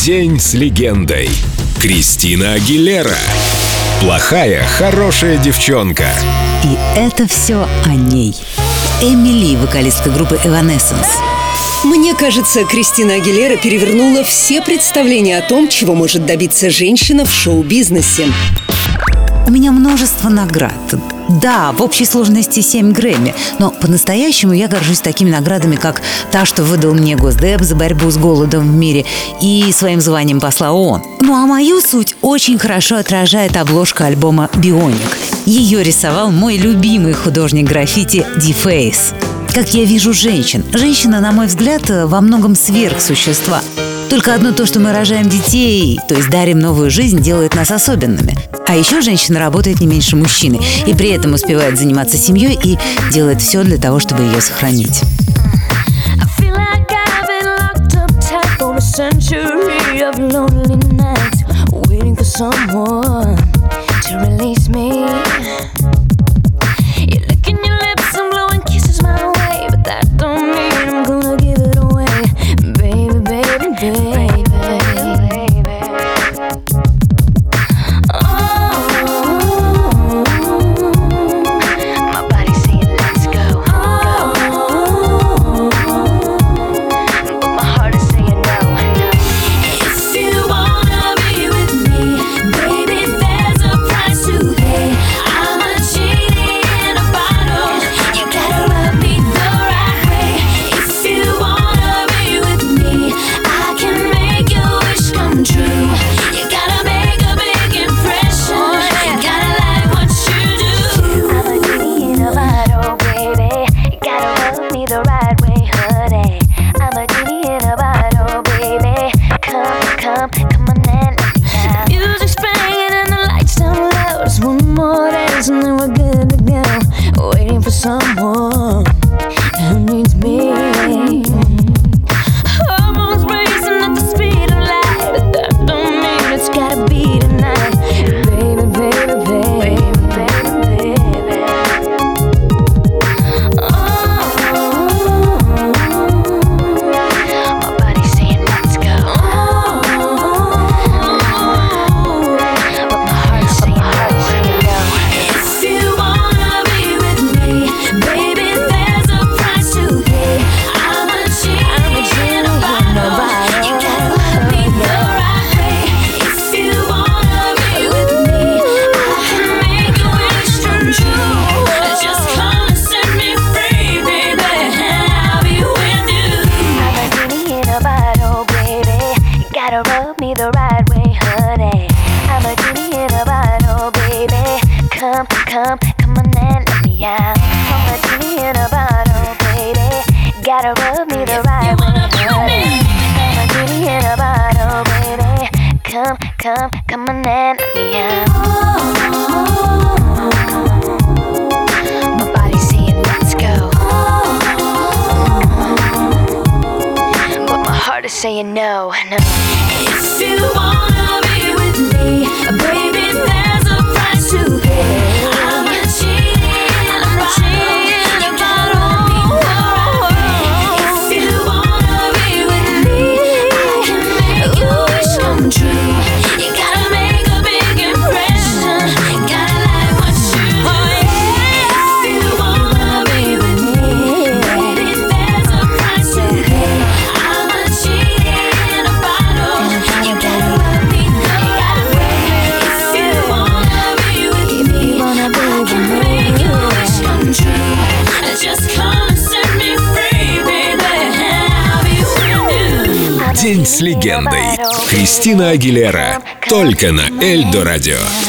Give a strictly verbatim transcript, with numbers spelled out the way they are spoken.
День с легендой. Кристина Агилера. Плохая, хорошая девчонка. И это все о ней. Эмили, вокалистка группы Evanescence. Мне кажется, Кристина Агилера перевернула все представления о том, чего может добиться женщина в шоу-бизнесе. У меня множество наград. Да, в общей сложности семь Грэмми. Но по-настоящему я горжусь такими наградами, как та, что выдал мне Госдеп за борьбу с голодом в мире, и своим званием посла ООН. Ну а мою суть очень хорошо отражает обложка альбома «Бионик». Ее рисовал мой любимый художник граффити Ди Фейс. Как я вижу женщин. Женщина, на мой взгляд, во многом сверхсущества. Только одно то, что мы рожаем детей, то есть дарим новую жизнь, делает нас особенными. А еще женщина работает не меньше мужчины и при этом успевает заниматься семьей и делает все для того, чтобы ее сохранить. And then we're good to go, waiting for someone who needs me. Hormones racing at the speed of light, but that don't mean it's gotta be tonight. Baby, baby, baby, baby, baby. Oh, my body's saying let's go. Oh, but my heart's saying no. Rub me the right way, honey. I'm a genie in a bottle, baby. Come, come, come on and let me out. I'm a genie in a bottle, baby. Gotta rub me the right way, honey. I'm a genie in a bottle, baby. Come, come, come on and let me out. My body's saying let's go, but my heart is saying no, no. If you wanna be with me, baby, there's a price to pay. I'm a genie, I'm a genie, you gotta be the right. If you wanna be with me, I can make your wish come true. You gotta make a big impression, gotta like what you do. If you wanna be with me, baby, there's a price to pay. I'm a genie in a bottle. You gotta love me the right way. If you wanna be with me, I can make your wish come true. Just come and set me free, baby. I'll be with you. День с легендой. Кристина Агилера. Только на Эльдо Радио.